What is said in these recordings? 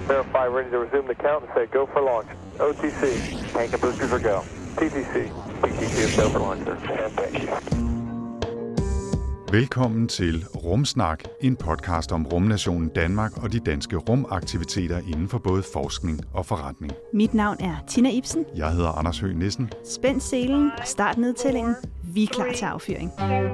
Verify, ready to resume the count and say go for launch. OTC, tank and boosters are go. TTC, TTC is go for launch, sir. And thank you. Velkommen til Rumsnak, en podcast om rumnationen Danmark og de danske rumaktiviteter inden for både forskning og forretning. Mit navn er Tina Ibsen. Jeg hedder Anders Høgh Nissen. Spænd selen og start nedtællingen. Vi er klar til affyring. 2, 1, 0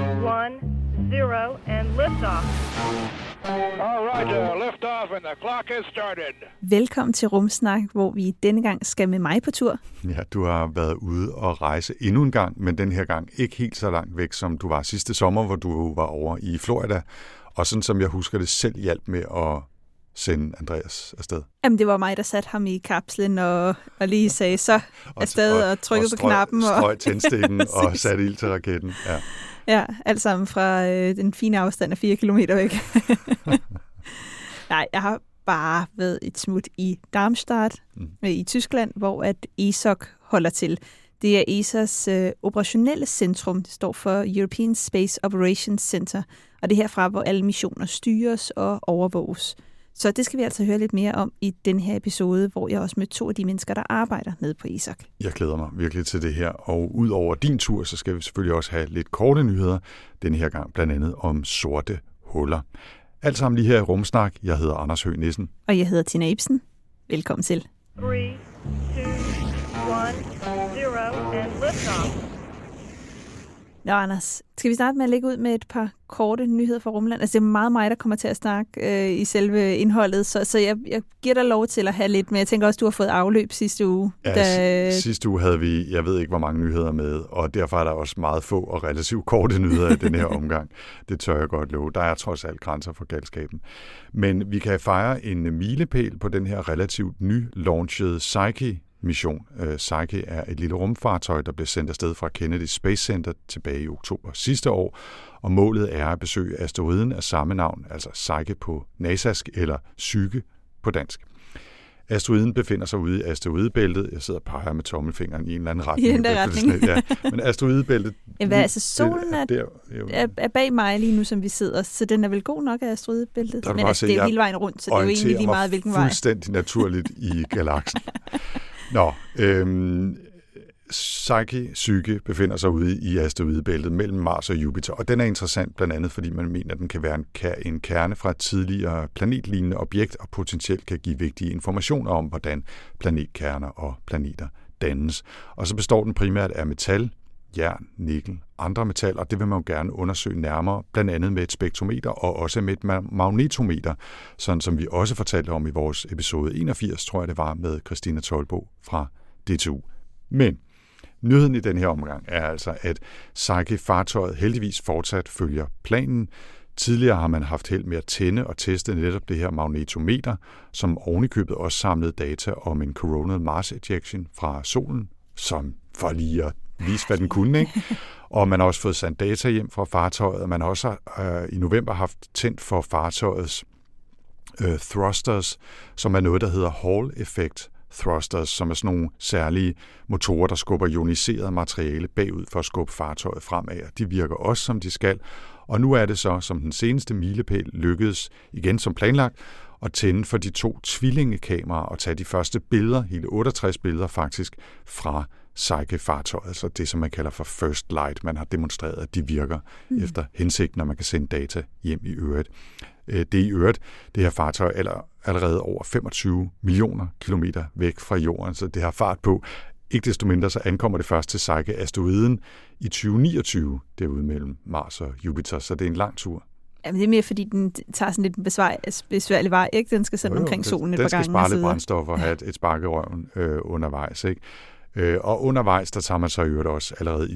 and liftoff. All right, lift off and the clock is started. Velkommen til Rumsnak, hvor vi denne gang skal med mig på tur. Ja, du har været ude og rejse endnu en gang, men den her gang ikke helt så langt væk, som du var sidste sommer, hvor du var over i Florida. Og sådan som jeg husker det, selv hjalp med at sende Andreas afsted. Jamen, det var mig, der satte ham i kapslen og lige sagde så afsted og trykkede på knappen. Og strøg tændstikken og satte ild til raketten. Ja. Ja, alt sammen fra den fine afstand af 4 kilometer væk. Nej, jeg har bare været et smut i Darmstadt i Tyskland, hvor at ESOC holder til. Det er ESA's operationelle centrum. Det står for European Space Operations Center, og det er herfra, hvor alle missioner styres og overvåges. Så det skal vi altså høre lidt mere om i den her episode, hvor jeg også mødte 2 af de mennesker, der arbejder nede på ESOC. Jeg glæder mig virkelig til det her, og ud over din tur, så skal vi selvfølgelig også have lidt korte nyheder, den her gang blandt andet om sorte huller. Alt sammen lige her i Rumsnak. Jeg hedder Anders Høgh Nissen. Og jeg hedder Tina Ibsen. Velkommen til. 3, 2, 1, 0 and liftoff. Nå, Anders, skal vi starte med at lægge ud med et par korte nyheder fra rumland? Altså, det er meget mig, der kommer til at snakke i selve indholdet, så jeg giver dig lov til at have lidt, men jeg tænker også, du har fået afløb sidste uge. Ja, sidste uge havde vi, jeg ved ikke, hvor mange nyheder med, og derfor er der også meget få og relativt korte nyheder i den her omgang. Det tør jeg godt love. Der er trods alt grænser for galskaben. Men vi kan fejre en milepæl på den her relativt ny-launchede Psyche-mission. Psyche er et lille rumfartøj, der blev sendt afsted fra Kennedy Space Center tilbage i oktober sidste år, og målet er at besøge asteroiden af samme navn, altså Psyche på nasask eller Psyche på dansk. Asteroiden befinder sig ude i asteroidebæltet. Jeg sidder og peger med tommelfingeren i en eller anden retning. I den der retning. Ja. Men asteroidebæltet... altså solen er bag mig lige nu, som vi sidder, så den er vel god nok af asteroidebæltet. Men altså, det er jo hele vejen rundt, så det er jo egentlig lige meget, hvilken vej. Fuldstændig naturligt i galaksen. Nå, Psyche befinder sig ude i asteroidebæltet mellem Mars og Jupiter, og den er interessant blandt andet, fordi man mener, at den kan være en kerne fra et tidligere planetlignende objekt, og potentielt kan give vigtige informationer om, hvordan planetkerner og planeter dannes. Og så består den primært af metal, jern, nikkel, andre metaller, og det vil man jo gerne undersøge nærmere, blandt andet med et spektrometer og også med et magnetometer, sådan som vi også fortalte om i vores episode 81, tror jeg det var, med Christina Tolbo fra DTU. Men nyheden i den her omgang er altså, at Psyche-fartøjet heldigvis fortsat følger planen. Tidligere har man haft held med at tænde og teste netop det her magnetometer, som ovenikøbet også samlede data om en coronal mass ejection fra solen, som for lige at vise, hvad den kunne, ikke? Og man har også fået sendt data hjem fra fartøjet, og man har også i november haft tændt for fartøjets thrusters, som er noget, der hedder Hall-effekt thrusters, som er sådan nogle særlige motorer, der skubber ioniseret materiale bagud for at skubbe fartøjet fremad. De virker også, som de skal. Og nu er det så, som den seneste milepæl lykkedes, igen som planlagt, at tænde for de 2 tvillingekameraer og tage de første billeder, hele 68 billeder faktisk, fra Psyche-fartøjet, altså det, som man kalder for first light. Man har demonstreret, at de virker efter hensigten, når man kan sende data hjem i øvrigt. Det er i øvrigt, det her fartøj allerede over 25 millioner kilometer væk fra jorden, så det har fart på. Ikke desto mindre, så ankommer det først til Psyche-asteroiden i 2029, derude mellem Mars og Jupiter, så det er en lang tur. Jamen, det er mere, fordi den tager sådan lidt en besværlig vej, ikke? Den skal sende omkring solen et par gange. Den skal spare lidt brændstof og have et spark i røven undervejs, ikke? Og undervejs, der tager man så i øvrigt også allerede i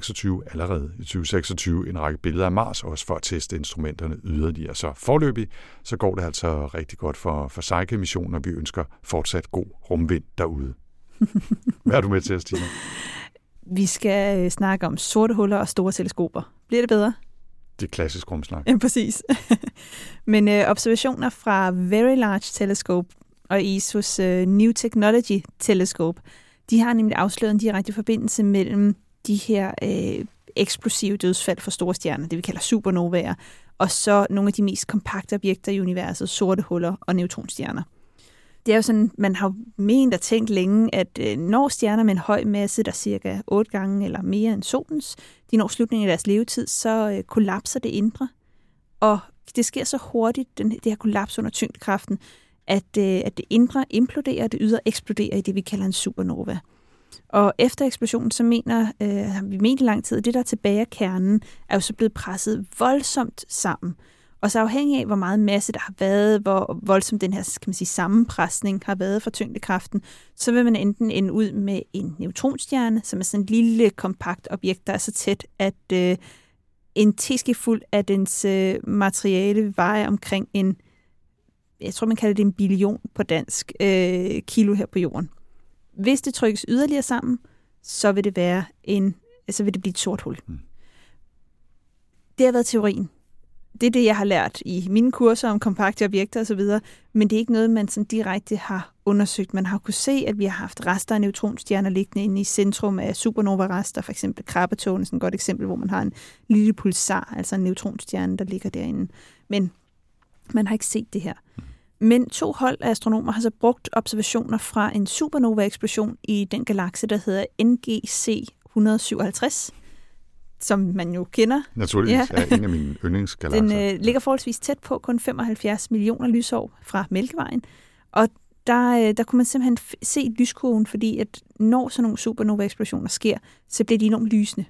2026 en række billeder af Mars, også for at teste instrumenterne yderligere. Så foreløbig, så går det altså rigtig godt for Psyche-missionen, og vi ønsker fortsat god rumvind derude. Hvad er du med til, Stine? Vi skal snakke om sorte huller og store teleskoper. Bliver det bedre? Det er klassisk rumsnak. Ja, præcis. Men observationer fra Very Large Telescope og ESO's New Technology Telescope, de har nemlig afsløret en direkte forbindelse mellem de her eksplosive dødsfald for store stjerner, det vi kalder supernovaer, og så nogle af de mest kompakte objekter i universet, sorte huller og neutronstjerner. Det er jo sådan, man har ment og tænkt længe, at når stjerner med en høj masse, der cirka 8 gange eller mere end solens, de når slutningen af deres levetid, så kollapser det indre. Og det sker så hurtigt, det her kollaps under tyngdekraften, at det indre imploderer, og det ydre eksploderer i det, vi kalder en supernova. Og efter eksplosionen, så har vi ment i lang tid, at det, der er tilbage af kernen, er jo så blevet presset voldsomt sammen. Og så afhængig af, hvor meget masse der har været, hvor voldsomt den her, kan man sige, sammenpresning har været for tyngdekraften, så vil man enten ende ud med en neutronstjerne, som er sådan et lille, kompakt objekt, der er så tæt, at en teskefuld af dens materiale vejer omkring jeg tror, man kalder det 1 billion på dansk, kilo her på jorden. Hvis det trykkes yderligere sammen, så vil det blive et sort hul. Det har været teorien. Det er det, jeg har lært i mine kurser om kompakte objekter osv., men det er ikke noget, man sådan direkte har undersøgt. Man har kunnet se, at vi har haft rester af neutronstjerner liggende inde i centrum af supernova-rester, for eksempel krabbetårnet, sådan et godt eksempel, hvor man har en lille pulsar, altså en neutronstjerne, der ligger derinde. Men man har ikke set det her. Men 2 hold af astronomer har så brugt observationer fra en supernova-eksplosion i den galakse, der hedder NGC 157, som man jo kender. Naturligvis er en af mine yndlingsgalakser. Den ligger forholdsvis tæt på, kun 75 millioner lysår fra Mælkevejen. Og der kunne man simpelthen se lyskurven, fordi at når sådan nogle supernova-eksplosioner sker, så bliver de enormt lysende.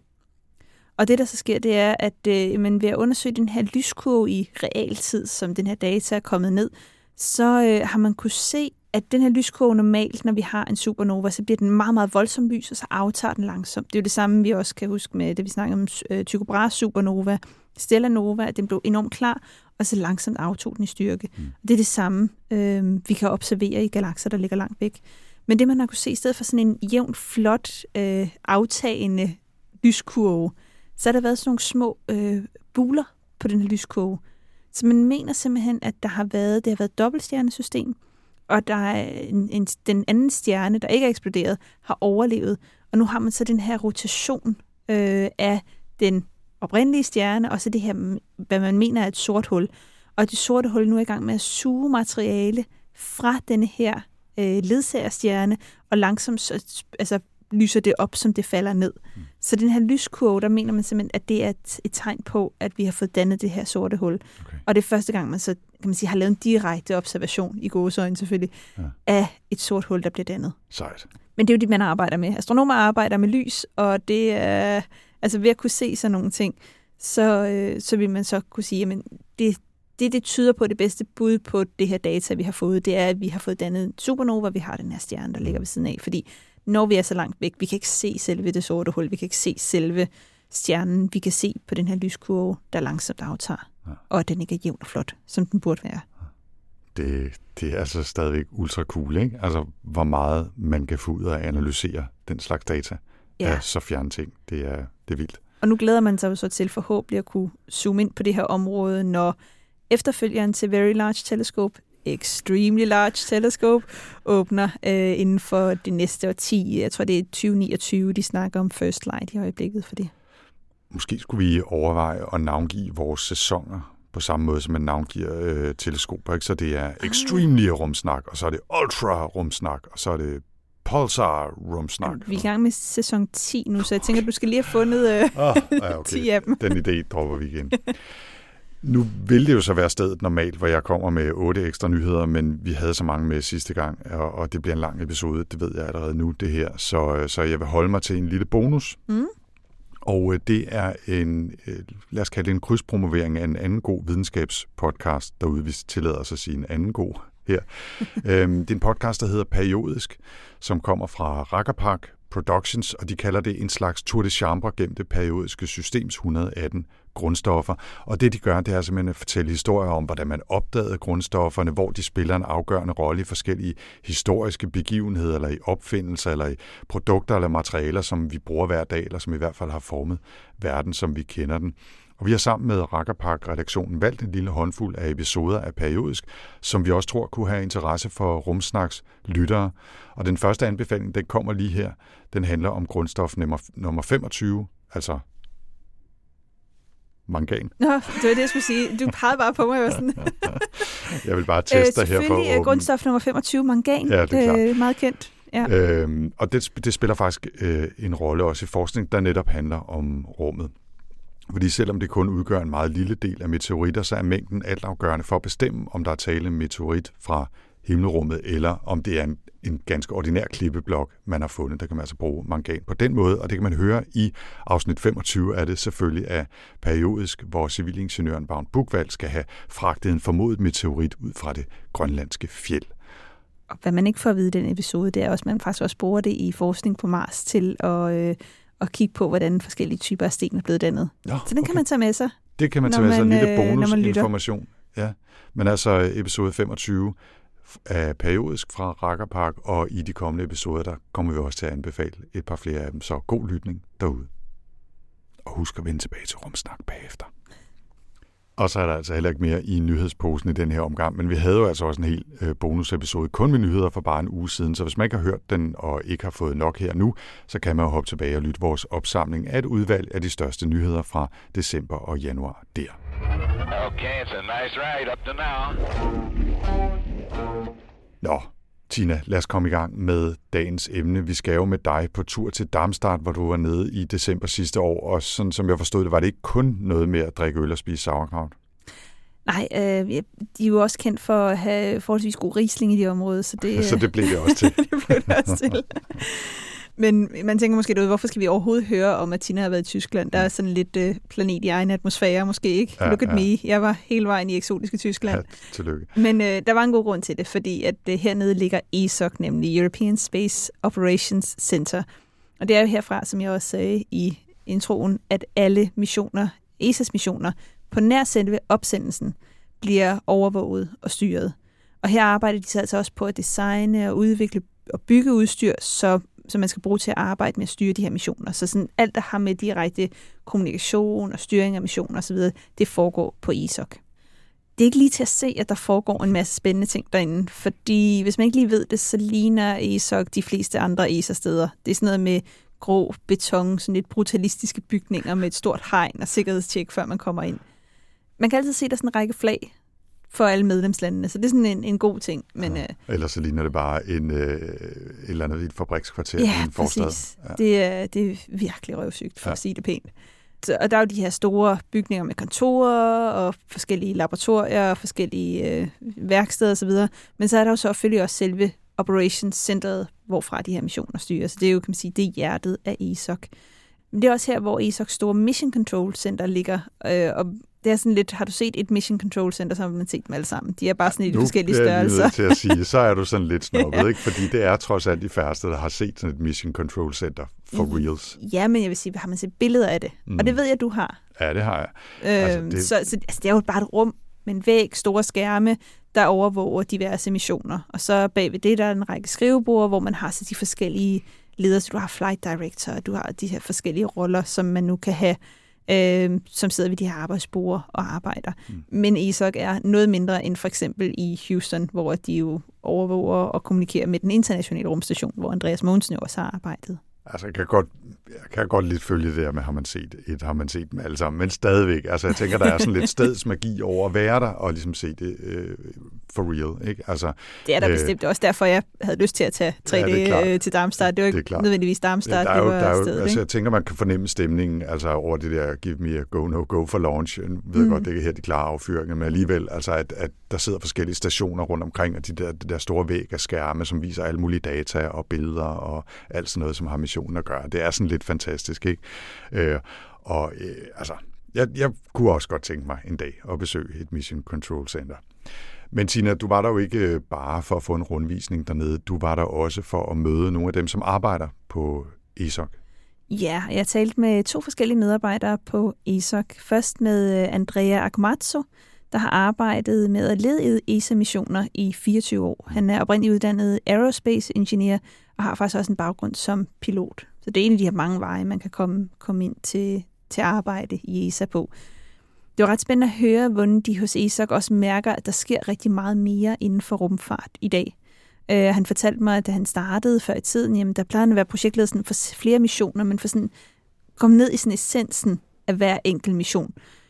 Og det, der så sker, det er, at man ved at undersøge den her lyskurve i realtid, som den her data er kommet ned, så har man kunne se, at den her lyskurve normalt, når vi har en supernova, så bliver den meget, meget voldsom lys, og så aftager den langsomt. Det er jo det samme, vi også kan huske med det, vi snakker om Tycho Brahes supernova, Stellanova, at den blev enormt klar, og så langsomt aftog den i styrke. Det er det samme, vi kan observere i galakser, der ligger langt væk. Men det, man har kunne se, i stedet for sådan en jævnt, flot, aftagende lyskurve, så har der været sådan nogle små buler på den her lyskurve. Så man mener simpelthen, at det har været et dobbeltstjernesystem, og der er den anden stjerne, der ikke er eksploderet, har overlevet. Og nu har man så den her rotation af den oprindelige stjerne, og så det her, hvad man mener er et sort hul. Og det sorte hul nu er i gang med at suge materiale fra denne her ledsagerstjerne, og langsomt lyser det op, som det falder ned. Så den her lyskurve, der mener man simpelthen, at det er et tegn på, at vi har fået dannet det her sorte hul. Okay. Og det er første gang, man så kan man sige, har lavet en direkte observation, i gåseøjne selvfølgelig, af et sort hul, der bliver dannet. Sejt. Men det er jo det, man arbejder med. Astronomer arbejder med lys, og det er altså ved at kunne se sådan nogle ting, så vil man så kunne sige, at det tyder på det bedste bud på det her data, vi har fået. Det er, at vi har fået dannet en supernova, vi har den her stjerne, der ligger ved siden af, fordi når vi er så langt væk, vi kan ikke se selve det sorte hul, vi kan ikke se selve stjernen, vi kan se på den her lyskurve, der langsomt aftager, og at den ikke er jævn og flot, som den burde være. Det er altså stadigvæk ultra cool, ikke? Altså, hvor meget man kan få ud af at analysere den slags data af så fjerne ting. Det er vildt. Og nu glæder man sig så til forhåbentlig at kunne zoome ind på det her område, når efterfølgeren til Very Large Telescope, Extremely Large Telescope, åbner inden for det næste årti. Jeg tror, det er 2029, de snakker om First Light i øjeblikket for det. Måske skulle vi overveje at navngive vores sæsoner på samme måde, som man navngiver teleskoper. Ikke? Så det er Extremely rumsnak, og så er det Ultra rumsnak, og så er det Pulsar rumsnak. Vi er i gang med sæson 10 nu, så jeg tænker, at du skal lige have fundet okay. 10 af dem. Den idé dropper vi igen. Nu vil det jo så være stedet normalt, hvor jeg kommer med 8 ekstra nyheder, men vi havde så mange med sidste gang, og det bliver en lang episode, det ved jeg allerede nu, det her. Så jeg vil holde mig til en lille bonus. Og det er lad os kalde det en krydspromovering af en anden god videnskabspodcast derude, hvis tillader os at sige en anden god her. Det er en podcast, der hedder Periodisk, som kommer fra Rakkerpark Productions, og de kalder det en slags tour de chambre gennem det periodiske systems 118 grundstoffer. Og det, de gør, det er simpelthen at fortælle historier om, hvordan man opdagede grundstofferne, hvor de spiller en afgørende rolle i forskellige historiske begivenheder, eller i opfindelser, eller i produkter eller materialer, som vi bruger hver dag, eller som i hvert fald har formet verden, som vi kender den. Og vi har sammen med Rakkerpark-redaktionen valgt en lille håndfuld af episoder af Periodisk, som vi også tror kunne have interesse for Rumsnaks lyttere. Og den første anbefaling, den kommer lige her. Den handler om grundstof nummer 25, altså mangan. Nå, det var det, jeg skulle sige. Du pegede bare på mig. Sådan. Jeg vil bare teste her for selvfølgelig grundstof nummer 25, mangan. Ja, det er klart. Meget kendt. Ja. Og det spiller faktisk en rolle også i forskning, der netop handler om rummet. Fordi selvom det kun udgør en meget lille del af meteoritter, så er mængden altafgørende for at bestemme, om der er tale om meteorit fra himmelrummet, eller om det er en ganske ordinær klippeblok, man har fundet. Der kan man altså bruge mangan på den måde, og det kan man høre i afsnit 25, er det selvfølgelig af periodisk, hvor civilingeniøren Vagn Buchwald skal have fragtet en formodet meteorit ud fra det grønlandske fjeld. Og hvad man ikke får at vide i den episode, det er også, at man faktisk også bruger det i forskning på Mars til at kigge på, hvordan forskellige typer af sten er blevet dannet. Ja, så den kan man tage med sig. Det kan man tage med sig, en lille bonusinformation. Ja. Men altså episode 25 er periodisk fra Rakkerpark, og i de kommende episoder, der kommer vi også til at anbefale et par flere af dem. Så god lytning derude. Og husk at vende tilbage til Rumsnak bagefter. Og så er der altså heller ikke mere i nyhedsposen i den her omgang, men vi havde jo altså også en hel bonusepisode kun med nyheder for bare en uge siden, så hvis man ikke har hørt den og ikke har fået nok her nu, så kan man jo hoppe tilbage og lytte vores opsamling af et udvalg af de største nyheder fra december og januar der. Okay, it's a nice ride up to now. Nå, Tina, lad os komme i gang med dagens emne. Vi skal jo med dig på tur til Darmstadt, hvor du var nede i december sidste år, og sådan som jeg forstod det, var det ikke kun noget med at drikke øl og spise sauerkraut? Nej, de er jo også kendt for at have forholdsvis god Riesling i det område, så det, så det blev det også til. det blev det også til. Men man tænker måske derude, hvorfor skal vi overhovedet høre om, at Tina har været i Tyskland? Der er sådan lidt planet i egen atmosfære, måske ikke. Ja, look at me. Jeg var hele vejen i eksotiske Tyskland. Ja, tillykke. Men der var en god grund til det, fordi at hernede ligger ESOC, nemlig European Space Operations Center. Og det er jo herfra, som jeg også sagde i introen, at alle missioner, ESA's missioner, på nær selve opsendelsen, bliver overvåget og styret. Og her arbejder de så altså også på at designe og udvikle og bygge udstyr, som man skal bruge til at arbejde med at styre de her missioner. Så sådan alt, der har med direkte kommunikation og styring af missioner osv., det foregår på ESOC. Det er ikke lige til at se, at der foregår en masse spændende ting derinde, fordi hvis man ikke lige ved det, så ligner ESOC de fleste andre ESA-steder. Det er sådan noget med grå beton, sådan lidt brutalistiske bygninger med et stort hegn og sikkerhedstjek, før man kommer ind. Man kan altid se, der er sådan en række flag for alle medlemslandene, så det er sådan en god ting. Men, ellers så ligner det bare et eller andet i et fabrikskvarter i en forstad. Præcis. Ja, det er virkelig røvsygt, for at sige det pænt. Og der er jo de her store bygninger med kontorer og forskellige laboratorier og forskellige værksteder osv., men så er der jo selvfølgelig også selve Operations Centeret, hvorfra de her missioner styrer. Så det er jo, kan man sige, det er hjertet af ESOC. Men det er også her, hvor ESOC's store Mission Control Center ligger, og det er sådan lidt, har du set et Mission Control Center, så har man set dem alle sammen. De er bare sådan lidt forskellige størrelser. Til at sige, så er du sådan lidt snobbet, ikke? Fordi det er trods alt de færreste, der har set sådan et Mission Control Center for reals. Ja, men jeg vil sige, har man set billeder af det? Og det ved jeg, du har. Ja, det har jeg. Så det er jo bare et rum med en væg, store skærme, der overvåger diverse missioner. Og så bagved det, der er en række skrivebord, hvor man har så de forskellige ledere. Så du har flight director, du har de her forskellige roller, som man nu kan have, som sidder ved de her arbejdsborde og arbejder. Men ESOC er noget mindre end for eksempel i Houston, hvor de jo overvåger og kommunikerer med den internationale rumstation, hvor Andreas Mogensen også har arbejdet. Altså, jeg kan godt lidt følge det der med, har man set dem alle sammen, men stadigvæk, altså jeg tænker, der er sådan lidt stedsmagi over at være der, og ligesom se det for real, ikke? Altså, det er der bestemt også, derfor jeg havde lyst til at tage 3D til Darmstadt. Det var ikke nødvendigvis Darmstadt, det var stedet, altså, jeg tænker, man kan fornemme stemningen, altså over det der, give me a go, no go for launch. Jeg ved godt, det er her de klare affyringer, men alligevel, altså at der sidder forskellige stationer rundt omkring, og det der store væg af skærme, som viser alle mulige data og billeder og alt sådan noget, som har missionen at gøre. Det er sådan lidt fantastisk, ikke? Altså, jeg kunne også godt tænke mig en dag at besøge et Mission Control Center. Men Tina, du var der jo ikke bare for at få en rundvisning dernede. Du var der også for at møde nogle af dem, som arbejder på ESOC. Ja, jeg talte med 2 forskellige medarbejdere på ESOC. Først med Andrea Akumatsu, der har arbejdet med at lede ESA-missioner i 24 år. Han er oprindeligt uddannet aerospace engineer og har faktisk også en baggrund som pilot. Så det er en af de her mange veje, man kan komme ind til arbejde i ESA på. Det var ret spændende at høre, hvordan de hos ESOC også mærker, at der sker rigtig meget mere inden for rumfart i dag. Han fortalte mig, at da han startede før i tiden, jamen, der plejede at være projektledelsen for flere missioner, men for sådan komme ned i sådan essensen af hver enkelt mission.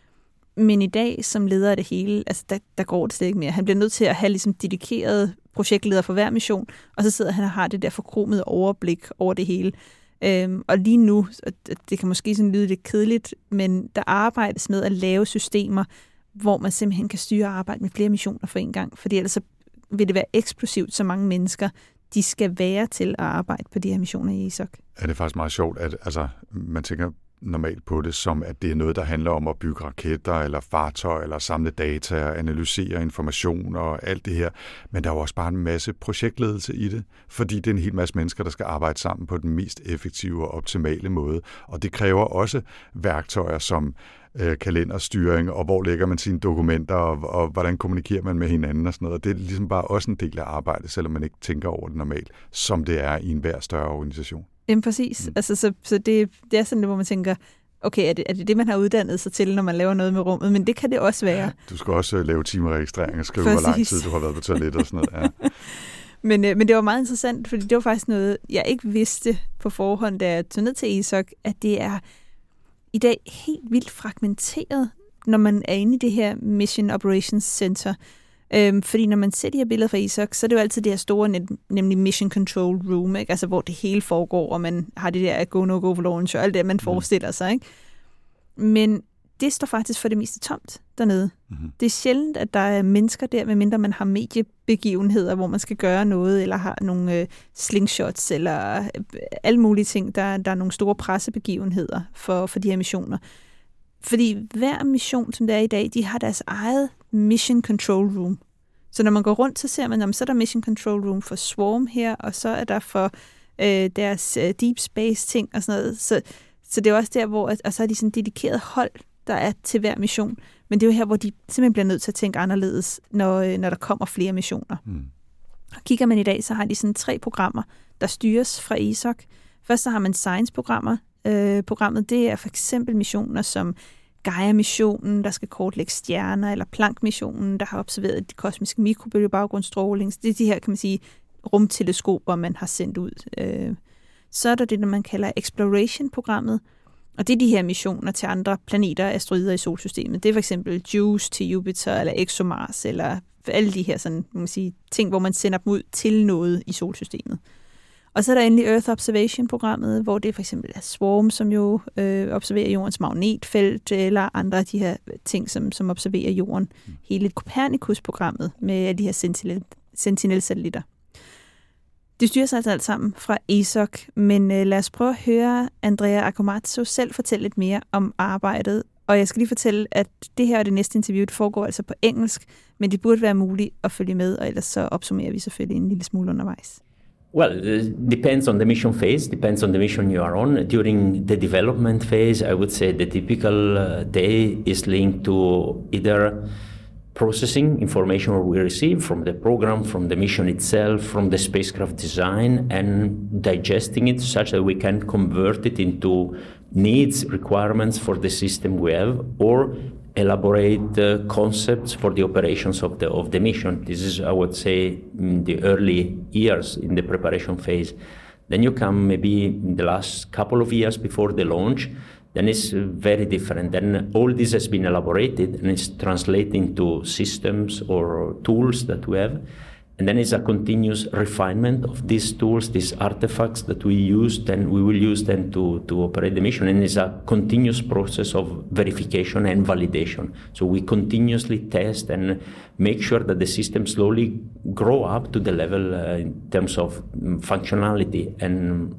Men i dag, som leder af det hele, altså der går det slet ikke mere. Han bliver nødt til at have ligesom dedikeret projektleder for hver mission, og så sidder han og har det der forkromede overblik over det hele. Og lige nu, det kan måske sådan lyde lidt kedeligt, men der arbejdes med at lave systemer, hvor man simpelthen kan styre og arbejde med flere missioner for en gang, fordi ellers så vil det være eksplosivt, så mange mennesker, de skal være til at arbejde på de her missioner i ESOC. Er det faktisk meget sjovt, at man tænker normalt på det som, at det er noget, der handler om at bygge raketter eller fartøjer, eller samle data og analysere information og alt det her. Men der er jo også bare en masse projektledelse i det, fordi det er en hel masse mennesker, der skal arbejde sammen på den mest effektive og optimale måde. Og det kræver også værktøjer som kalenderstyring, og hvor lægger man sine dokumenter, og hvordan kommunikerer man med hinanden og sådan noget. Og det er ligesom bare også en del af arbejdet, selvom man ikke tænker over det normalt, som det er i enhver større organisation. Jamen præcis. Altså, så det er sådan, hvor man tænker, okay, er det, man har uddannet sig til, når man laver noget med rummet? Men det kan det også være. Du skal også lave timeregistrering og skrive, hvor lang tid du har været på toilet og sådan noget. Ja. Men det var meget interessant, fordi det var faktisk noget, jeg ikke vidste på forhånd, da jeg tog ned til ESOC, at det er i dag helt vildt fragmenteret, når man er inde i det her Mission Operations Center. Fordi når man ser de her billeder fra ESOC, så er det jo altid det her store, nemlig Mission Control Room, ikke? Altså hvor det hele foregår, og man har det der go, no, go, launch, og alt det, man forestiller sig. Ikke? Men det står faktisk for det meste tomt dernede. Mm-hmm. Det er sjældent, at der er mennesker der, medmindre man har mediebegivenheder, hvor man skal gøre noget, eller har nogle slingshots, eller alle mulige ting. Der er nogle store pressebegivenheder for de her missioner. Fordi hver mission, som det er i dag, de har deres eget Mission Control Room. Så når man går rundt, så ser man, så er der Mission Control Room for Swarm her, og så er der for deres Deep Space ting og sådan noget. Så det er også der, hvor og så er de sådan dedikeret hold, der er til hver mission. Men det er jo her, hvor de simpelthen bliver nødt til at tænke anderledes, når der kommer flere missioner. Mm. Og kigger man i dag, så har de sådan 3 programmer, der styres fra ESOC. Først så har man Science-programmer. Programmet, det er for eksempel missioner som Gaia-missionen, der skal kortlægge stjerner, eller Planck-missionen, der har observeret de kosmiske mikrobølgebaggrundsstråling. Det er de her, kan man sige, rumteleskoper, man har sendt ud. Så er der det, man kalder Exploration-programmet, og det er de her missioner til andre planeter og asteroider i solsystemet. Det er for eksempel JUICE til Jupiter, eller ExoMars, eller alle de her sådan, man sige, ting, hvor man sender dem ud til noget i solsystemet. Og så er der endelig Earth Observation-programmet, hvor det for eksempel er Swarm, som jo observerer jordens magnetfelt, eller andre af de her ting, som observerer jorden. Hele Copernicus-programmet med de her Sentinel-satellitter. Det styrer altså alt sammen fra ESOC, men lad os prøve at høre Andrea Accomazzo selv fortælle lidt mere om arbejdet. Og jeg skal lige fortælle, at det her og det næste interview foregår altså på engelsk, men det burde være muligt at følge med, og ellers så opsummerer vi selvfølgelig en lille smule undervejs. Well, it depends on the mission phase, depends on the mission you are on. During the development phase, I would say the typical day is linked to either processing information we receive from the program, from the mission itself, from the spacecraft design, and digesting it such that we can convert it into needs, requirements for the system we have, or elaborate concepts for the operations of the mission. This is, I would say, in the early years in the preparation phase. Then you come maybe in the last couple of years before the launch, then it's very different. Then all this has been elaborated and it's translated into systems or tools that we have. And then it's a continuous refinement of these tools, these artifacts that we use, then we will use them to operate the mission. And it's a continuous process of verification and validation. So we continuously test and make sure that the system slowly grow up to the level in terms of functionality and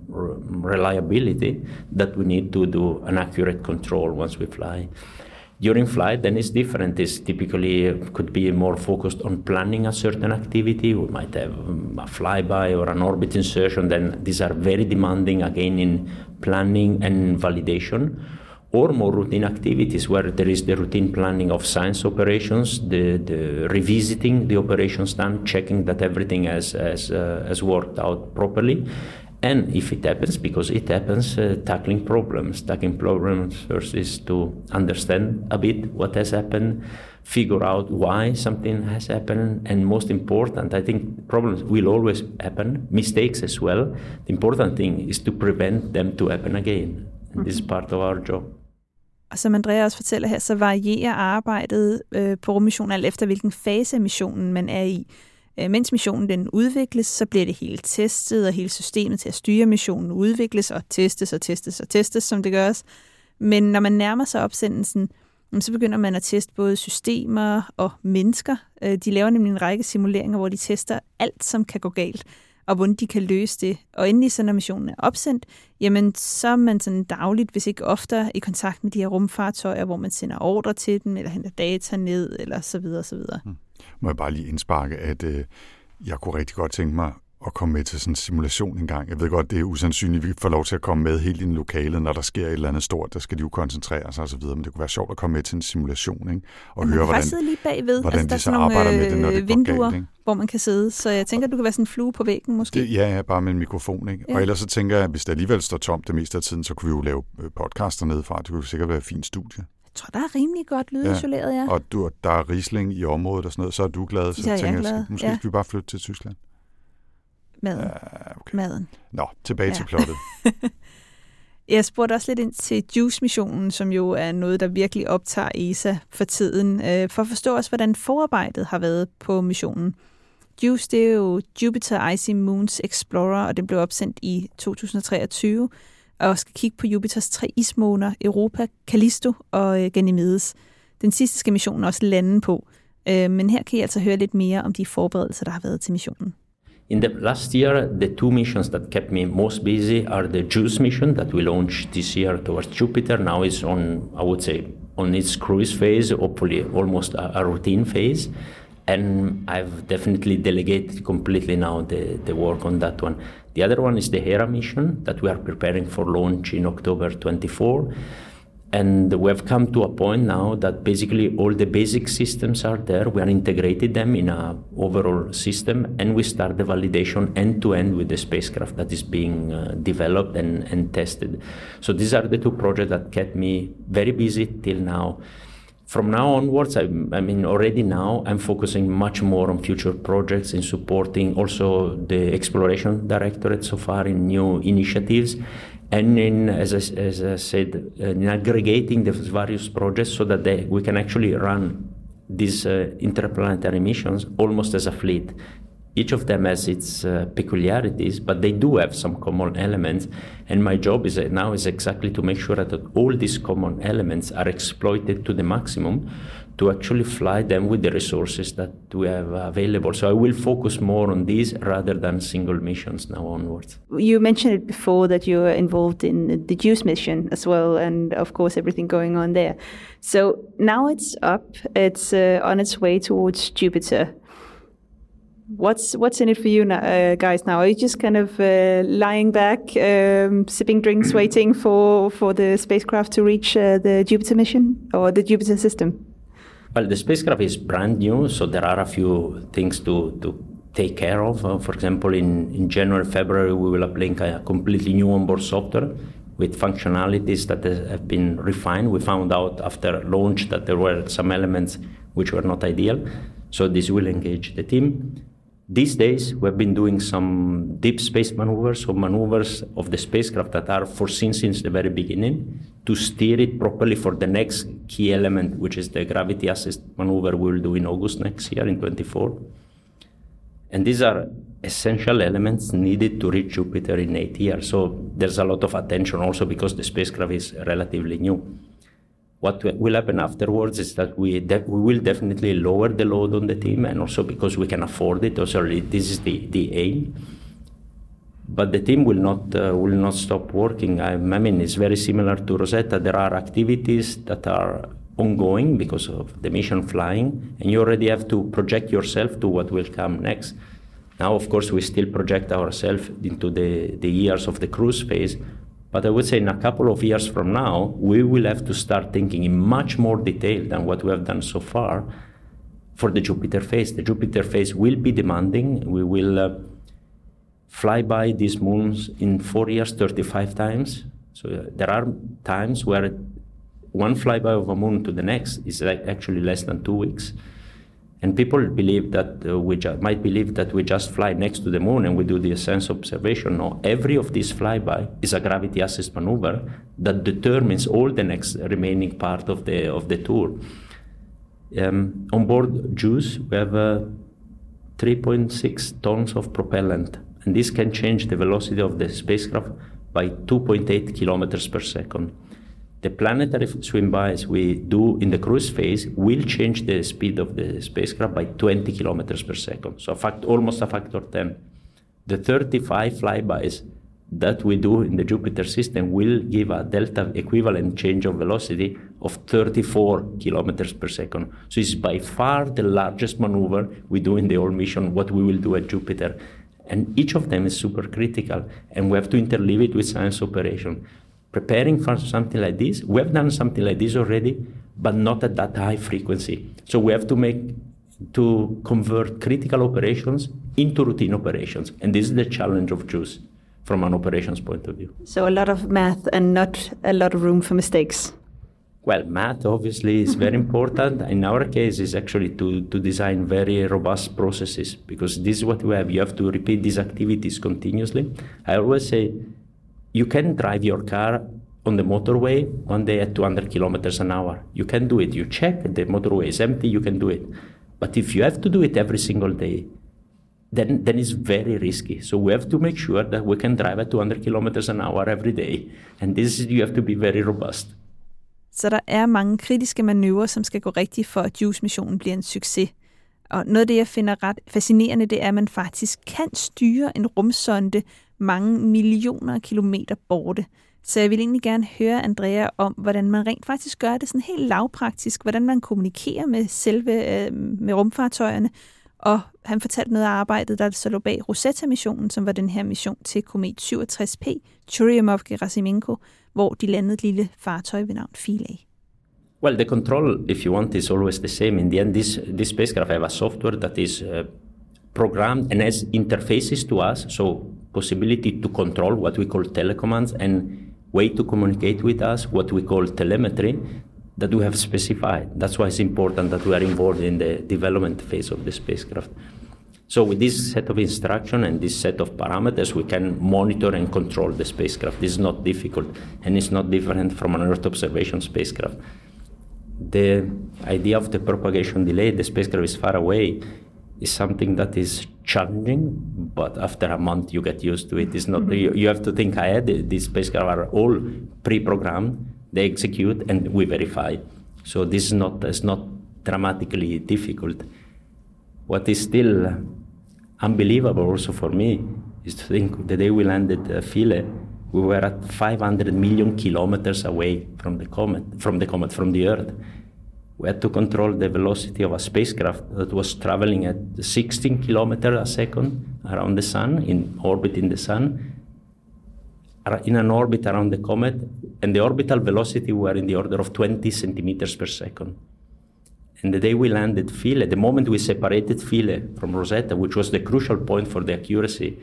reliability that we need to do an accurate control once we fly. During flight, then it's different. It's typically could be more focused on planning a certain activity. We might have a flyby or an orbit insertion. Then these are very demanding, again, in planning and validation. Or more routine activities where there is the routine planning of science operations, the revisiting the operations done, checking that everything has worked out properly. And if it happens, because it happens, tackling problems. Tackling problems first is to understand a bit what has happened, figure out why something has happened, and most important, I think problems will always happen, mistakes as well. The important thing is to prevent them to happen again. And this is part of our job. Og som Andrea også fortæller her, så varierer arbejdet på rummissionen alt efter, hvilken fase af missionen man er i. Mens missionen den udvikles, så bliver det hele testet, og hele systemet til at styre missionen udvikles og testes, som det gøres. Men når man nærmer sig opsendelsen, så begynder man at teste både systemer og mennesker. De laver nemlig en række simuleringer, hvor de tester alt, som kan gå galt, og hvordan de kan løse det. Og endelig så, når missionen er opsendt, jamen så er man sådan dagligt, hvis ikke oftere, i kontakt med de her rumfartøjer, hvor man sender ordre til dem, eller henter data ned, eller så videre, så videre. Må jeg bare lige indsparke, at jeg kunne rigtig godt tænke mig at komme med til sådan en simulation en gang. Jeg ved godt, det er usandsynligt, at vi får lov til at komme med helt ind i lokalet, når der sker et eller andet stort, der skal de jo koncentrere sig og så videre, men det kunne være sjovt at komme med til en simulation, ikke? Og høre, hvordan de så arbejder med det, når det går galt, ikke? Hvor man kan sidde, så jeg tænker, at du kan være sådan en flue på væggen måske. Ja, bare med en mikrofon, ikke? Ja. Og ellers så tænker jeg, at hvis det alligevel står tomt det meste af tiden, så kunne vi jo lave podcaster nedefra. Det kunne sikkert være et fint studie. Jeg tror, der er rimelig godt lydisoleret, ja. Og der er Riesling i området og sådan noget, så er du glad. Så tænker jeg, måske skal vi bare flytte til Tyskland. Maden. Okay. Maden. Nå, tilbage til plottet. Jeg spurgte også lidt ind til JUICE-missionen, som jo er noget, der virkelig optager ESA for tiden, for at forstå også, hvordan forarbejdet har været på missionen. JUICE, det er jo Jupiter Icy Moons Explorer, og den blev opsendt i 2023, og skal kigge på Jupiters 3 ismåner, Europa, Callisto og Ganymedes. Den sidste skal missionen også lande på, men her kan I altså høre lidt mere om de forberedelser, der har været til missionen. In the last year, the 2 missions that kept me most busy are the JUICE mission that we launched this year towards Jupiter. Now it's on, I would say, on its cruise phase, hopefully almost a routine phase. And I've definitely delegated completely now the work on that one. The other one is the Hera mission that we are preparing for launch in October 24. And we have come to a point now that basically all the basic systems are there. We are integrated them in a overall system, and we start the validation end-to-end with the spacecraft that is being developed and tested. So these are the 2 projects that kept me very busy till now. From now onwards, I mean, already now, I'm focusing much more on future projects and supporting also the Exploration Directorate so far in new initiatives. And in, as I said, in aggregating the various projects so that we can actually run these interplanetary missions almost as a fleet. Each of them has its peculiarities, but they do have some common elements. And my job now is exactly to make sure that all these common elements are exploited to the maximum to actually fly them with the resources that we have available. So I will focus more on these rather than single missions now onwards. You mentioned it before that you were involved in the JUICE mission as well, and of course everything going on there. So now it's up, it's on its way towards Jupiter. What's in it for you guys now? Are you just kind of lying back, sipping drinks, waiting for the spacecraft to reach the Jupiter mission or the Jupiter system? Well, the spacecraft is brand new, so there are a few things to take care of. For example, in January, February, we will uplink a completely new onboard software with functionalities that have been refined. We found out after launch that there were some elements which were not ideal, so this will engage the team. These days, we've been doing some deep space maneuvers, so maneuvers of the spacecraft that are foreseen since the very beginning to steer it properly for the next key element, which is the gravity assist maneuver we will do in August next year in 24. And these are essential elements needed to reach Jupiter in 8 years. So there's a lot of attention also because the spacecraft is relatively new. What will happen afterwards is that we will definitely lower the load on the team, and also because we can afford it. Also, this is the aim. But the team will not stop working. I mean, it's very similar to Rosetta. There are activities that are ongoing because of the mission flying, and you already have to project yourself to what will come next. Now, of course, we still project ourselves into the years of the cruise phase. But I would say in a couple of years from now, we will have to start thinking in much more detail than what we have done so far for the Jupiter phase. The Jupiter phase will be demanding. We will fly by these moons in 4 years, 35 times. So there are times where one flyby of a moon to the next is actually less than 2 weeks. And people believe that might believe that we just fly next to the moon and we do the ascent observation. No, every of these flyby is a gravity assist maneuver that determines all the next remaining part of the tour. On board JUICE, we have 3.6 tons of propellant, and this can change the velocity of the spacecraft by 2.8 kilometers per second. The planetary swim-bys we do in the cruise phase will change the speed of the spacecraft by 20 kilometers per second, so almost a factor 10. The 35 flybys that we do in the Jupiter system will give a delta equivalent change of velocity of 34 kilometers per second. So it's by far the largest maneuver we do in the whole mission, what we will do at Jupiter. And each of them is super critical, and we have to interleave it with science operation. Preparing for something like this, we have done something like this already, but not at that high frequency. So we have to convert critical operations into routine operations. And this is the challenge of JUICE from an operations point of view. So a lot of math and not a lot of room for mistakes. Well, math obviously is very important. In our case, is actually to design very robust processes, because this is what we have. You have to repeat these activities continuously. I always say, you can drive your car on the motorway one day at 200 kilometers an hour. You can do it. You check, the motorway is empty, you can do it. But if you have to do it every single day, then it's very risky. So we have to make sure that we can drive at 200 kilometers an hour every day. And you have to be very robust. Så der er mange kritiske manøvrer, som skal gå rigtigt for, at JUICE-missionen bliver en succes. Og noget af det, jeg finder ret fascinerende, det er, at man faktisk kan styre en rumsonde mange millioner kilometer borte. Så jeg vil egentlig gerne høre Andrea om, hvordan man rent faktisk gør det sådan helt lavpraktisk, hvordan man kommunikerer med rumfartøjerne. Og han fortalte noget af arbejdet, der så lå bag Rosetta-missionen, som var den her mission til komet 67P, Churyumov-Gerasimenko, hvor de landede et lille fartøj ved navn Philae. Well, the control, if you want, is always the same. In the end, this spacecraft have a software that is programmed and has interfaces to us, so possibility to control what we call telecommands and way to communicate with us, what we call telemetry, that we have specified. That's why it's important that we are involved in the development phase of the spacecraft. So with this set of instruction and this set of parameters, we can monitor and control the spacecraft. This is not difficult, and it's not different from an Earth observation spacecraft. The idea of the propagation delay, the spacecraft is far away, is something that is challenging, but after a month you get used to it. It's not, you have to think ahead. These spacecraft are all pre-programmed, they execute, and we verify. So this is not dramatically difficult. What is still unbelievable also for me is to think the day we landed Philae, we were at 500 million kilometers away from the Earth. We had to control the velocity of a spacecraft that was traveling at 16 kilometers a second around the Sun, in orbit in the Sun, in an orbit around the comet, and the orbital velocity were in the order of 20 centimeters per second. And the day we landed Philae, the moment we separated Philae from Rosetta, which was the crucial point for the accuracy,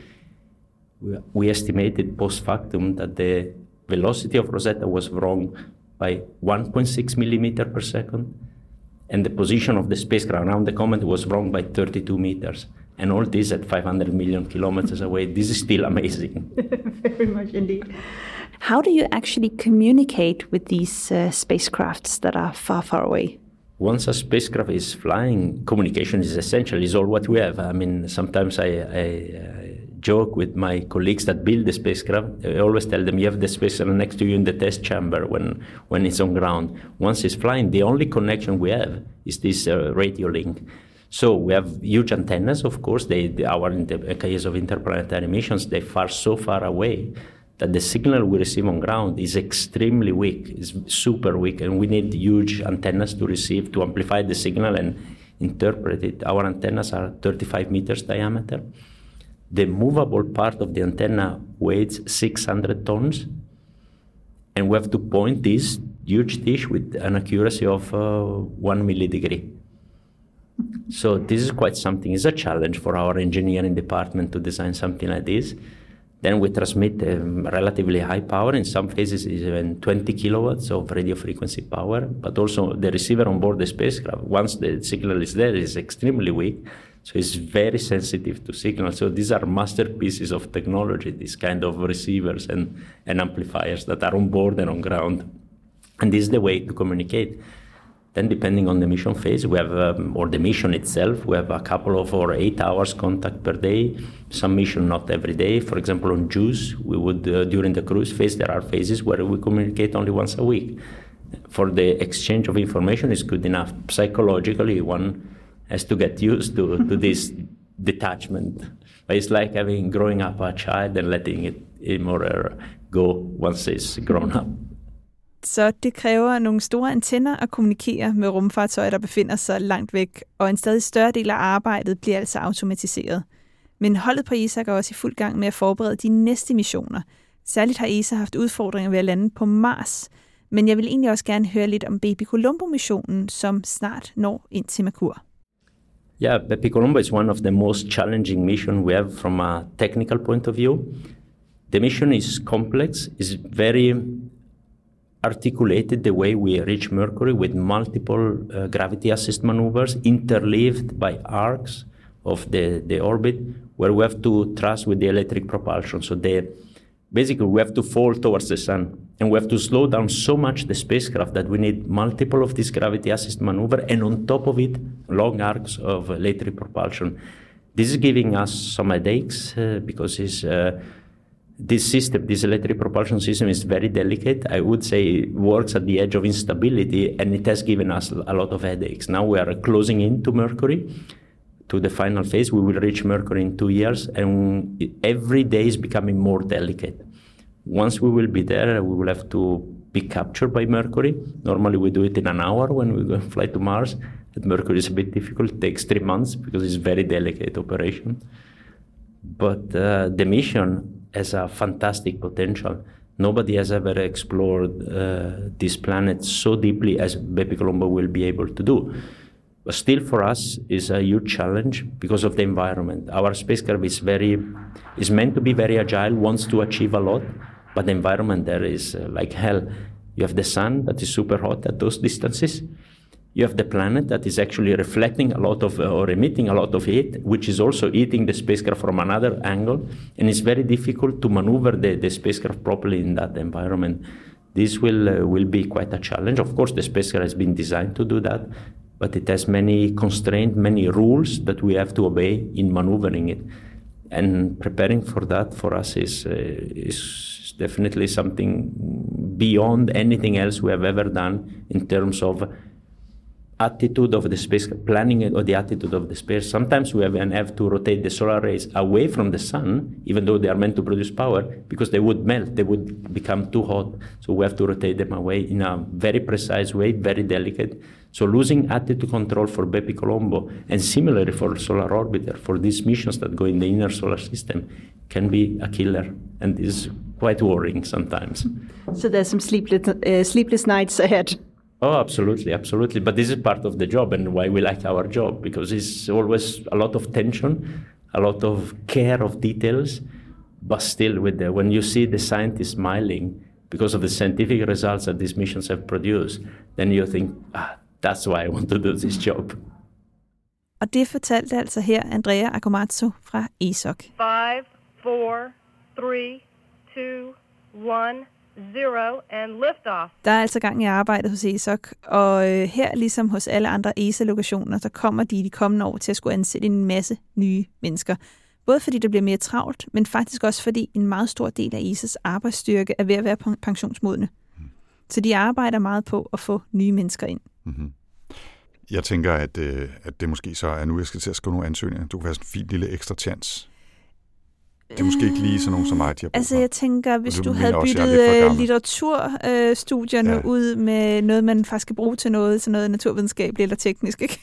we estimated post factum that the velocity of Rosetta was wrong by 1.6 millimeter per second, and the position of the spacecraft around the comet was wrong by 32 meters. And all this at 500 million kilometers away. This is still amazing. Very much indeed. How do you actually communicate with these spacecrafts that are far, far away? Once a spacecraft is flying, communication is essential, is all what we have. I mean, sometimes I joke with my colleagues that build the spacecraft. I always tell them, you have the spacecraft next to you in the test chamber when it's on ground. Once it's flying, the only connection we have is this radio link. So we have huge antennas, of course. In the case of interplanetary missions, they far so far away that the signal we receive on ground is extremely weak, is super weak, and we need huge antennas to amplify the signal and interpret it. Our antennas are 35 meters diameter. The movable part of the antenna weighs 600 tons, and we have to point this huge dish with an accuracy of 1 millidegree. So this is quite something. It's a challenge for our engineering department to design something like this. Then we transmit relatively high power. In some phases, even 20 kilowatts of radio frequency power. But also the receiver on board the spacecraft, once the signal is there, is extremely weak. So it's very sensitive to signal. So these are masterpieces of technology, these kind of receivers and amplifiers that are on board and on ground. And this is the way to communicate. Then depending on the mission phase, we have, or the mission itself, we have a couple of or 8 hours contact per day. Some mission not every day. For example, on JUICE, we would, during the cruise phase, there are phases where we communicate only once a week. For the exchange of information is good enough. Psychologically, one has to get used to this detachment. But it's like growing up a child and letting him or her go once it's grown up. Så det kræver nogle store antenner at kommunikere med rumfartøjer, der befinder sig langt væk, og en stadig større del af arbejdet bliver altså automatiseret. Men holdet på ESA er også i fuld gang med at forberede de næste missioner. Særligt har ESA haft udfordringer ved at lande på Mars. Men jeg vil egentlig også gerne høre lidt om Baby Colombo-missionen, som snart når ind til Merkur. Yeah, Baby Colombo is one of the most challenging missions we have from a technical point of view. The mission is complex, is very articulated the way we reach Mercury with multiple gravity assist maneuvers interleaved by arcs of the orbit where we have to thrust with the electric propulsion. So basically we have to fall towards the sun and we have to slow down so much the spacecraft that we need multiple of this gravity assist maneuver and on top of it long arcs of electric propulsion. This is giving us some headaches because this electric propulsion system is very delicate. I would say it works at the edge of instability and it has given us a lot of headaches. Now we are closing in to Mercury, to the final phase. We will reach Mercury in 2 years and every day is becoming more delicate. Once we will be there, we will have to be captured by Mercury. Normally we do it in an hour when we go fly to Mars. At Mercury is a bit difficult. It takes 3 months because it's a very delicate operation. But the mission has a fantastic potential. Nobody has ever explored this planet so deeply as Baby Colombo will be able to do. But still for us is a huge challenge because of the environment. Our spacecraft is meant to be very agile, wants to achieve a lot, but the environment there is like hell. You have the sun that is super hot at those distances. You have the planet that is actually reflecting a lot of, or emitting a lot of heat, which is also eating the spacecraft from another angle. And it's very difficult to maneuver the spacecraft properly in that environment. This will be quite a challenge. Of course, the spacecraft has been designed to do that, but it has many constraints, many rules that we have to obey in maneuvering it. And preparing for that for us is definitely something beyond anything else we have ever done in terms of attitude of the space, planning or the attitude of the space. Sometimes we have to rotate the solar rays away from the sun, even though they are meant to produce power, because they would melt, they would become too hot. So we have to rotate them away in a very precise way, very delicate. So losing attitude control for Baby Colombo, and similarly for Solar Orbiter, for these missions that go in the inner solar system, can be a killer. And this is quite worrying sometimes. So there's some sleepless nights ahead. Oh, absolutely, absolutely. But this is part of the job and why we like our job, because it's always a lot of tension, a lot of care of details, but still when you see the scientists smiling because of the scientific results that these missions have produced, then you think, that's why I want to do this job. Og det fortalte altså her Andrea Accomazzo fra ESOC. 5, 4, 3, 2, 1, 0 and liftoff. Der er altså gang i arbejdet hos ESOC, og her ligesom hos alle andre ESA-lokationer, så kommer de kommende år til at skulle ansætte en masse nye mennesker. Både fordi det bliver mere travlt, men faktisk også fordi en meget stor del af ESAs arbejdsstyrke er ved at være pensionsmodne. Så de arbejder meget på at få nye mennesker ind. Mm-hmm. Jeg tænker, at det måske så er nu, jeg skal til at skrive nogle ansøgninger. Du kan være sådan en fin lille ekstra chance. Det er måske ikke lige sådan nogen som mig, de har brug for. Altså jeg tænker, hvis du havde byttet litteraturstudierne ud med noget, man faktisk kan bruge til noget naturvidenskabeligt eller teknisk, ikke?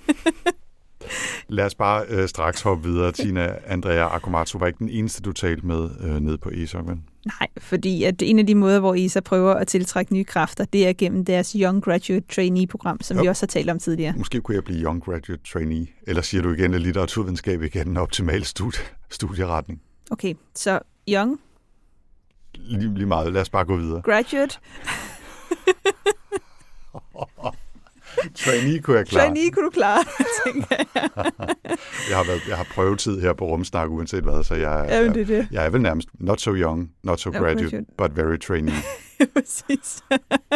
Lad os bare straks hoppe videre. Tina Andrea Accomazzo var ikke den eneste, du talte med nede på ESOC, vel? Nej, fordi at en af de måder, hvor ESA prøver at tiltrække nye kræfter, det er gennem deres Young Graduate Trainee-program, som vi også har talt om tidligere. Måske kunne jeg blive Young Graduate Trainee, eller siger du igen, at litteraturvidenskab ikke er den optimale studieretning? Okay, så young? Lige meget. Lad os bare gå videre. Graduate? Trainee kunne jeg klare. Trainee kunne du klare, tænker jeg. Jeg har prøvetid her på Rumsnak, uanset hvad, så jeg er vel nærmest not so young, not so graduate, but very trainee. Præcis.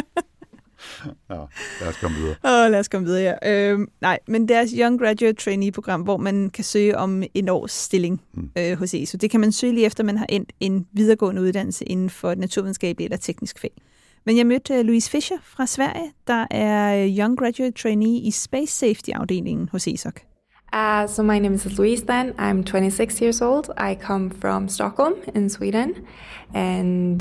Nå, lad os komme videre. Lad os komme videre, ja. Nej, men deres Young Graduate Trainee-program, hvor man kan søge om en års stilling hos ESO. Det kan man søge lige efter, man har endt en videregående uddannelse inden for et naturvidenskabeligt eller teknisk fag. Men jeg mødte Louise Fischer fra Sverige, der er Young Graduate Trainee i Space Safety-afdelingen hos ESOC. So my name is Louise then. I'm 26 years old. I come from Stockholm in Sweden. And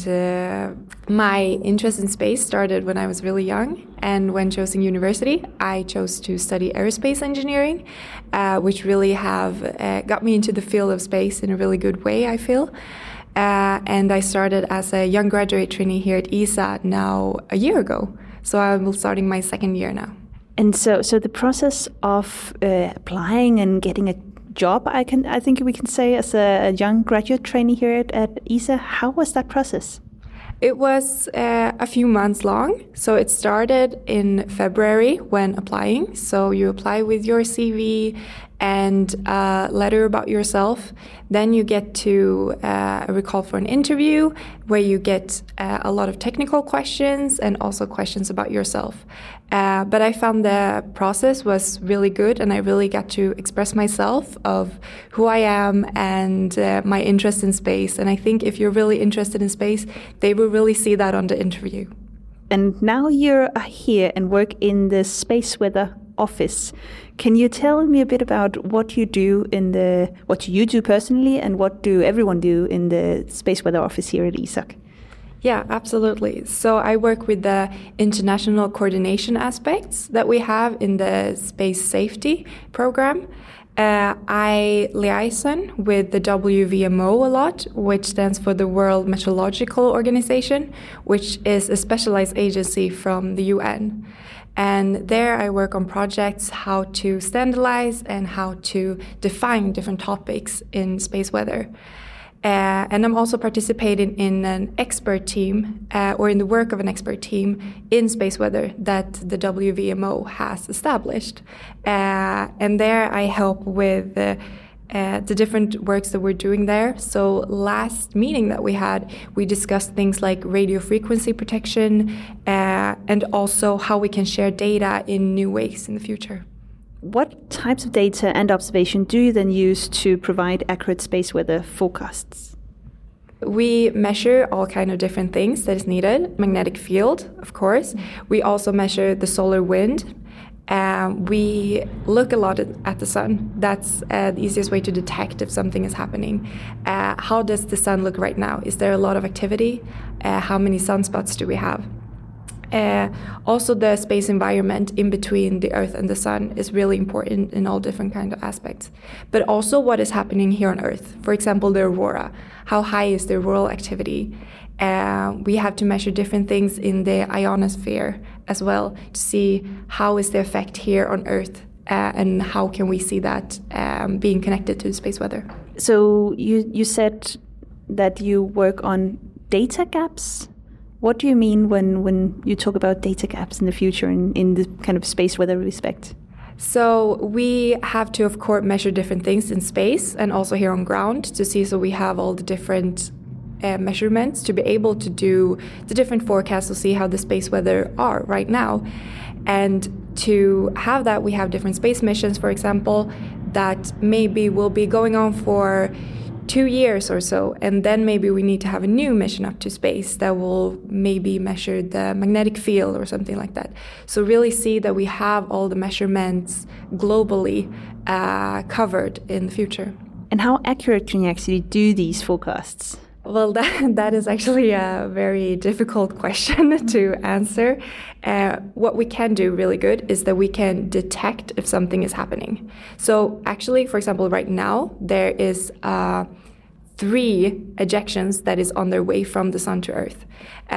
my interest in space started when I was really young. And when choosing university, I chose to study aerospace engineering, which really have got me into the field of space in a really good way, I feel. And I started as a young graduate trainee here at ESA now a year ago. So I'm starting my second year now. And so the process of applying and getting a job, I think we can say, as a young graduate trainee here at ESA, how was that process? It was a few months long. So it started in February when applying. So you apply with your CV and a letter about yourself. Then you get to recall for an interview where you get a lot of technical questions and also questions about yourself. But I found the process was really good, and I really got to express myself of who I am and my interest in space. And I think if you're really interested in space, they will really see that on the interview. And now you're here and work in the Space Weather office. Can you tell me a bit about what you do what you do personally, and what do everyone do in the Space Weather office here at ESOC? Yeah, absolutely. So I work with the international coordination aspects that we have in the space safety program. I liaison with the WVMO a lot, which stands for the World Meteorological Organization, which is a specialized agency from the UN. And there I work on projects how to standardize and how to define different topics in space weather. And I'm also participating in an expert team, or in the work of an expert team in space weather that the WVMO has established. And there I help with the different works that we're doing there. So last meeting that we had, we discussed things like radio frequency protection, and also how we can share data in new ways in the future. What types of data and observation do you then use to provide accurate space weather forecasts? We measure all kind of different things that is needed. Magnetic field, of course. We also measure the solar wind. We look a lot at the sun. That's the easiest way to detect if something is happening. How does the sun look right now? Is there a lot of activity? How many sunspots do we have? Also, the space environment in between the Earth and the Sun is really important in all different kind of aspects. But also what is happening here on Earth. For example, the aurora. How high is the auroral activity? We have to measure different things in the ionosphere as well to see how is the effect here on Earth, and how can we see that being connected to the space weather. So you said that you work on data gaps. What do you mean when you talk about data gaps in the future in the kind of space weather respect? So we have to, of course, measure different things in space and also here on ground to see, so we have all the different measurements to be able to do the different forecasts to see how the space weather are right now. And to have that, we have different space missions, for example, that maybe will be going on for 2 years or so, and then maybe we need to have a new mission up to space that will maybe measure the magnetic field or something like that. So really see that we have all the measurements globally covered in the future. And how accurate can you actually do these forecasts? Well, that is actually a very difficult question to answer. What we can do really good is that we can detect if something is happening. So actually, for example, right now, there is 3 ejections that is on their way from the sun to Earth.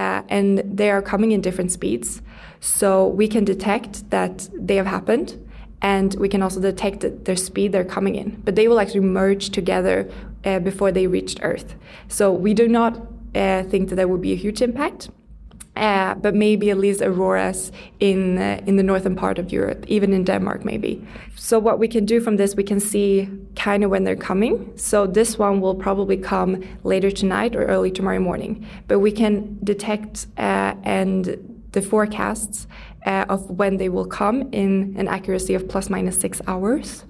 And they are coming in different speeds. So we can detect that they have happened. and we can also detect their speed they're coming in. But they will actually merge together before they reached Earth. So we do not think that there will be a huge impact. But maybe at least auroras in the northern part of Europe, even in Denmark maybe. So what we can do from this, we can see kind of when they're coming. So this one will probably come later tonight or early tomorrow morning. But we can detect and the forecasts of when they will come in an accuracy of plus minus 6 hours.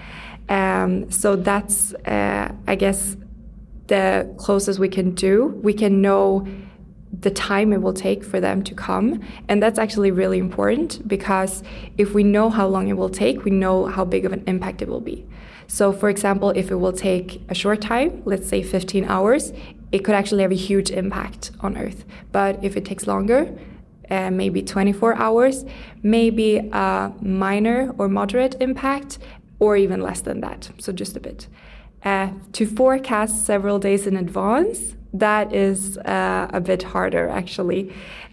So that's, I guess, the closest we can do. We can know the time it will take for them to come. And that's actually really important, because if we know how long it will take, we know how big of an impact it will be. So for example, if it will take a short time, let's say 15 hours, it could actually have a huge impact on Earth. But if it takes longer, maybe 24 hours, maybe a minor or moderate impact, or even less than that, so just a bit. To forecast several days in advance, that is a bit harder, actually.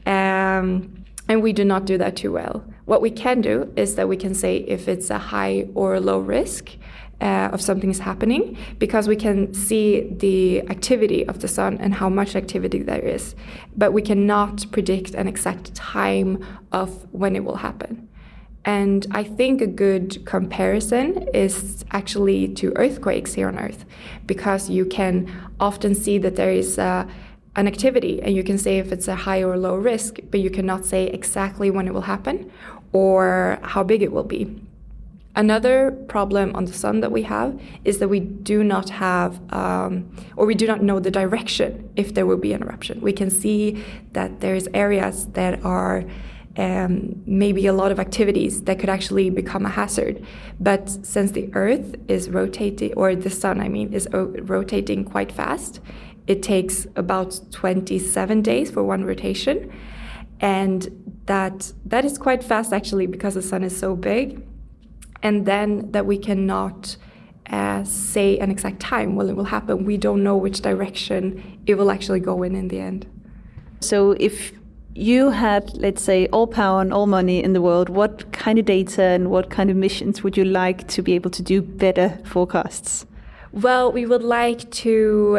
And we do not do that too well. What we can do is that we can say if it's a high or a low risk of something is happening, because we can see the activity of the sun and how much activity there is. But we cannot predict an exact time of when it will happen. And I think a good comparison is actually to earthquakes here on Earth, because you can often see that there is an activity, and you can say if it's a high or low risk, but you cannot say exactly when it will happen or how big it will be. Another problem on the sun that we have is that we do not have, or we do not know the direction if there will be an eruption. We can see that there's areas that are maybe a lot of activities that could actually become a hazard. But since the Earth is rotating, or the sun, I mean, is rotating quite fast, it takes about 27 days for one rotation. And that is quite fast, actually, because the sun is so big. And then that we cannot say an exact time when it will happen. We don't know which direction it will actually go in the end. So if you had, let's say, all power and all money in the world, what kind of data and what kind of missions would you like to be able to do better forecasts? Well, we would like to,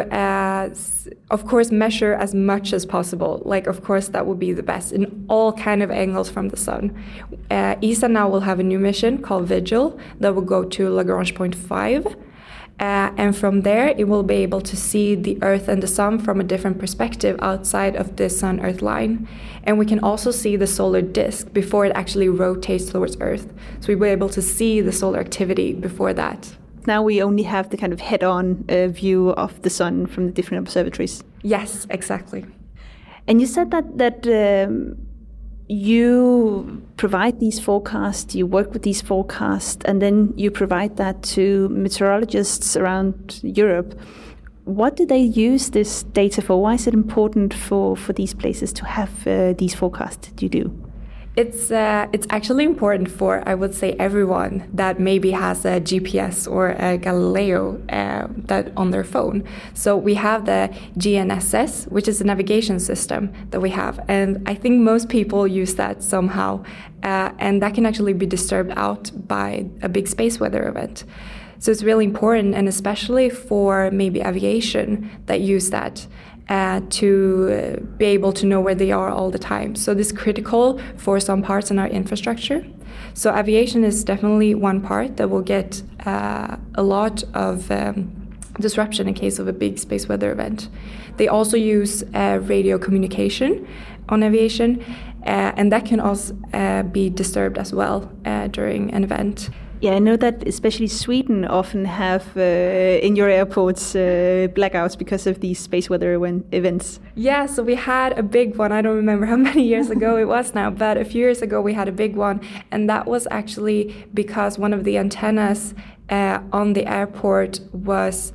of course, measure as much as possible. Like, of course, that would be the best in all kind of angles from the sun. ESA now will have a new mission called Vigil that will go to Lagrange point 5. And from there, it will be able to see the Earth and the Sun from a different perspective outside of the Sun-Earth line. And we can also see the solar disk before it actually rotates towards Earth. So we'll be able to see the solar activity before that. Now we only have the kind of head-on view of the sun from the different observatories. Yes, exactly. And you said that you provide these forecasts, you work with these forecasts, and then you provide that to meteorologists around Europe. What do they use this data for? Why is it important for these places to have these forecasts that you do? It's actually important for, I would say, everyone that maybe has a GPS or a Galileo that on their phone. So we have the GNSS, which is a navigation system that we have, and I think most people use that somehow, and that can actually be disturbed out by a big space weather event. So it's really important, and especially for maybe aviation that use that. To be able to know where they are all the time. So this is critical for some parts in our infrastructure. So aviation is definitely one part that will get a lot of disruption in case of a big space weather event. They also use radio communication on aviation, and that can also be disturbed as well during an event. Yeah, I know that especially Sweden often have in your airports blackouts because of these space weather events. Yeah, so we had a big one. I don't remember how many years ago it was now, but a few years ago we had a big one. And that was actually because one of the antennas on the airport was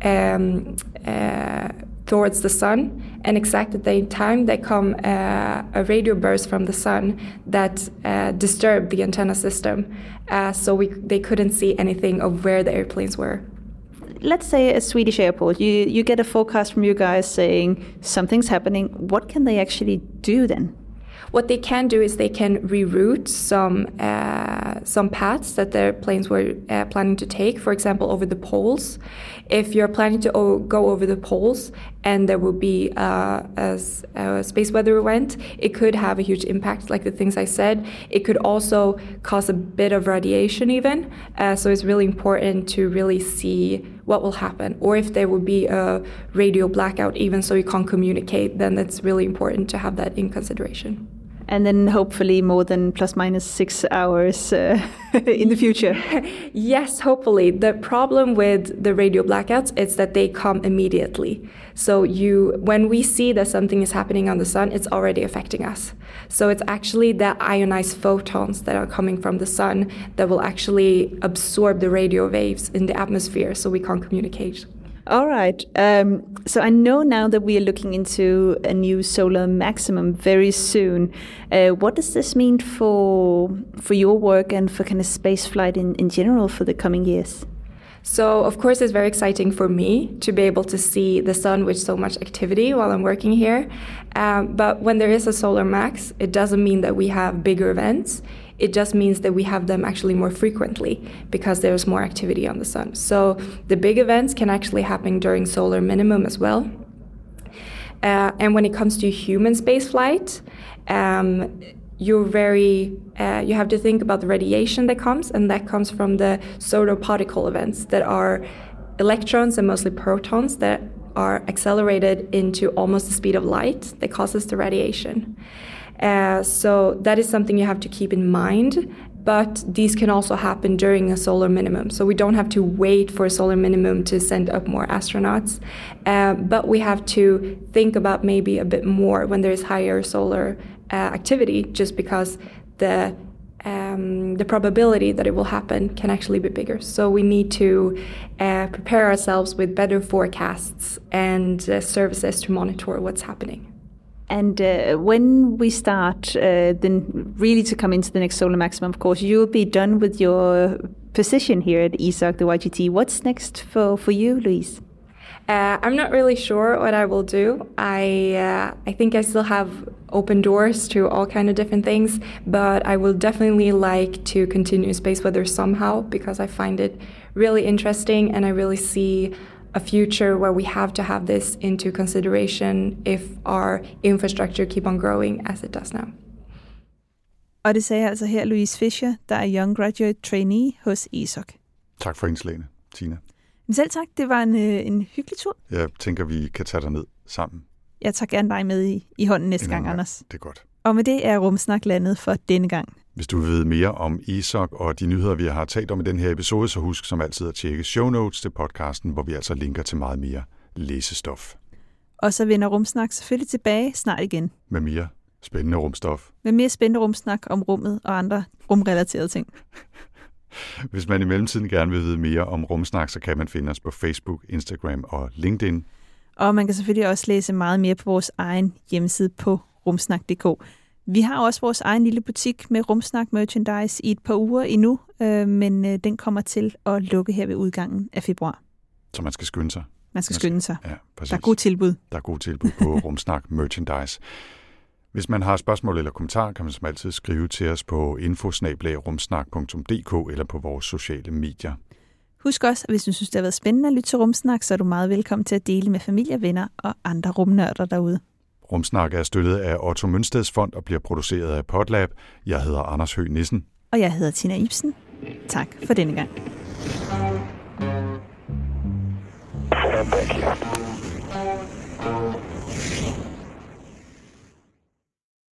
towards the sun, and exactly at the time there come a radio burst from the sun that disturbed the antenna system, so they couldn't see anything of where the airplanes were. Let's say a Swedish airport, you get a forecast from you guys saying something's happening. What can they actually do then? What they can do is they can reroute some paths that their planes were planning to take, for example, over the poles. If you're planning to go over the poles and there will be a space weather event, it could have a huge impact, like the things I said. It could also cause a bit of radiation even. So it's really important to really see what will happen. Or if there will be a radio blackout even so you can't communicate, then it's really important to have that in consideration. And then hopefully more than plus minus 6 hours in the future. Yes, hopefully. The problem with the radio blackouts is that they come immediately. So when we see that something is happening on the sun, it's already affecting us. So it's actually the ionized photons that are coming from the sun that will actually absorb the radio waves in the atmosphere so we can't communicate. All right. So I know now that we are looking into a new solar maximum very soon. What does this mean for your work and for kind of spaceflight in general for the coming years? So, of course, it's very exciting for me to be able to see the sun with so much activity while I'm working here. But when there is a solar max, it doesn't mean that we have bigger events. It just means that we have them actually more frequently because there's more activity on the sun. So the big events can actually happen during solar minimum as well. And when it comes to human spaceflight, you have to think about the radiation that comes, and that comes from the solar particle events that are electrons and mostly protons that are accelerated into almost the speed of light that causes the radiation. So that is something you have to keep in mind, but these can also happen during a solar minimum. So we don't have to wait for a solar minimum to send up more astronauts, but we have to think about maybe a bit more when there is higher solar activity, just because the probability that it will happen can actually be bigger. So we need to prepare ourselves with better forecasts and services to monitor what's happening. And when we start then really to come into the next solar maximum, of course, you'll be done with your position here at ESOC, the YGT. What's next for you, Louise? I'm not really sure what I will do. I think I still have open doors to all kind of different things, but I will definitely like to continue space weather somehow because I find it really interesting, and I really see a future where we have to have this into consideration if our infrastructure keep on growing as it does now. Og det sagde altså her Louise Fischer, der er Young Graduate Trainee hos ESOC. Tak for indslagene, Tina. Selv tak, det var en hyggelig tur. Jeg tænker, vi kan tage dig ned sammen. Jeg tager gerne dig med i hånden næste gang, Anders. Det er godt. Og med det er Rumsnak landet for denne gang. Hvis du vil vide mere om ESOC og de nyheder, vi har talt om i den her episode, så husk som altid at tjekke show notes til podcasten, hvor vi altså linker til meget mere læsestof. Og så vender Rumsnak selvfølgelig tilbage snart igen. Med mere spændende rumstof. Med mere spændende rumsnak om rummet og andre rumrelaterede ting. Hvis man i mellemtiden gerne vil vide mere om Rumsnak, så kan man finde os på Facebook, Instagram og LinkedIn. Og man kan selvfølgelig også læse meget mere på vores egen hjemmeside på rumsnak.dk. Vi har også vores egen lille butik med Rumsnak merchandise i et par uger endnu, men den kommer til at lukke her ved udgangen af februar. Så man skal skynde sig. Man skal skynde sig. Ja, præcis. Der er gode tilbud. Der er gode tilbud på Rumsnak merchandise. Hvis man har spørgsmål eller kommentarer, kan man som altid skrive til os på info@rumsnak.dk eller på vores sociale medier. Husk også, at hvis du synes, det har været spændende at lytte til Rumsnak, så er du meget velkommen til at dele med familie, venner og andre rumnørder derude. Rumsnak er støttet af Otto Mønsteds Fond og bliver produceret af Podlab. Jeg hedder Anders Høgh Nissen. Og jeg hedder Tina Ibsen. Tak for denne gang. Thank you.